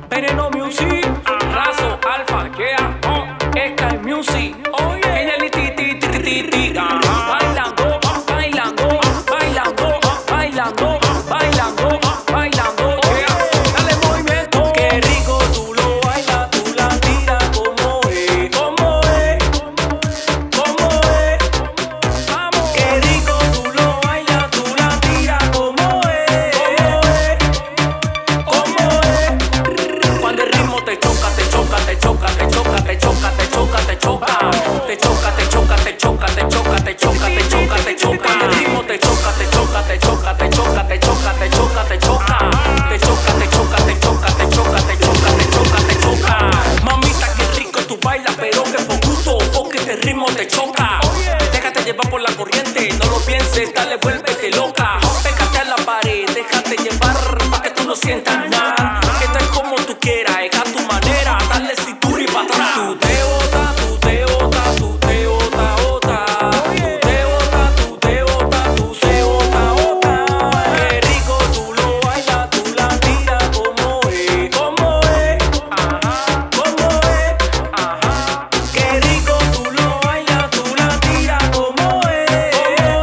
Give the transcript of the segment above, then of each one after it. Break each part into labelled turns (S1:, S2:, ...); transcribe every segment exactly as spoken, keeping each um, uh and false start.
S1: Veneno Music, Razo, Alfa, yeah, oh, Sky Music, oh yeah, ella li ti ti ti ti ti ti, ajá. Bailando, bailando, bailando, bailando, bailando, bailando, yeah. Dale movimiento, qué rico tú lo bailas, tú la tiras como es, como es, como es, vamos. Qué rico tú lo bailas, tú la tiras como es, como es. Cuando el ritmo te choca, te choca, te choca, te choca, te choca, te choca, te choca, te choca, te choca, te choca, te choca, te choca, te choca, te choca. Cuando el ritmo te choca, te choca, te choca, te choca, te choca, te choca, te choca, te choca, te choca, te choca, te choca, te choca, te choca, te choca. Mamita, qué rico tú bailas, pero que por gusto, porque este ritmo te choca. Déjate llevar por la corriente, no lo pienses, dale, vuélvete loca. Pégate a la pared, déjate llevar pa' que tú no sientas nada. Esto es como tú quieras, es a tu manera, dale cintura y pa' atrás. Tú te botas, tú te botas, tú te botas, botas. Tú te botas, tú te botas, tú se bota, bota. Qué rico tú lo bailas, tú la tiras como es, como es, ajá, como es, ajá. Qué rico tú lo bailas, tú la tiras como es,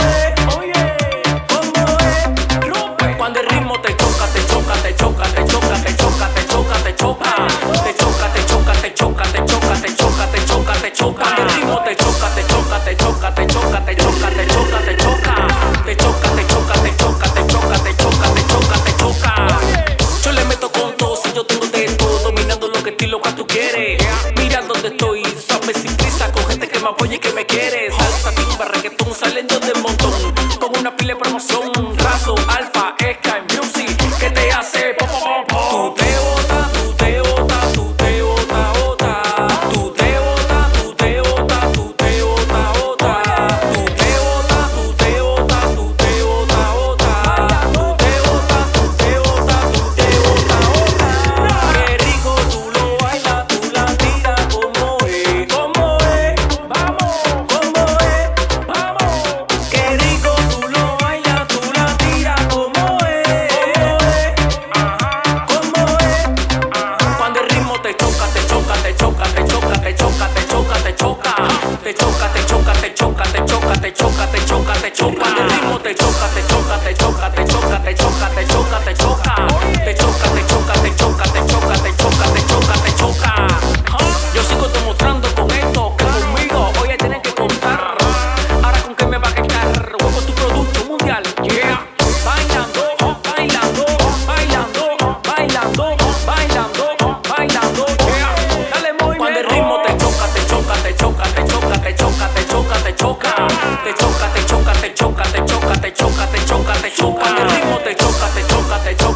S1: como es, rompe. Cuando el ritmo te choca, te choca, te choca, te choca, te choca, te choca, te choca, te choca, te choca, te choca, te choca, te choca, te choca, te choca. Cuando el ritmo te choca, te choca, te choca, te choca, te choca, te choca, te choca, te choca, te choca, te choca, te choca, te choca, te choca, te choca. Yo le meto con todo, si yo tengo de todo, dominando lo que estilo que tú quieres. Mira dónde estoy, sabes sin prisa, con gente que me apoya y que me quiere. Salsa, timba, reggaetón, saliendo del montón, con una pila de promoción. Razo, Alfa, Sky Music, que te hace pop, pop, pop. Tú te botas, tú te botas, tú te botas, botas. Tú te botas, tú te botas, tú te botas, botas. Tú te botas, tú te botas, tú te botas, botas. Tú te botas, tú te botas, tú te botas, botas. Qué rico tú lo bailas, tú la tiras como es, como es, vamos, como es, vamos. Qué rico tú lo bailas, tú la tiras como es, ajá, como es, ajá. Cuando el ritmo te choca, te choca, te choca, te choca, te choca, te choca, te choca, te choca, te choca, te choca, te choca, te choca, te choca, te choca. Cuando el ritmo te choca, te choca, te choca, te choca, te choca, te choca, te choca, te choca, te choca, te choca, te choca, te choca, te choca, te choca. Yo sigo demostrando con esto que conmigo oye tienen que contar. Ahora con qué me va a quedar, huevo tu producto mundial, yeah. Bailando, bailando, bailando, bailando, bailando, bailando, yeah. Dale movimiento. Cuando el ritmo te choca, te choca, te choca, te choca, te choca, te choca, te choca, te choca, te choca, te choca, te choca, te choca, te choca, te choca. Cuando el ritmo te choca, te choca, te choca.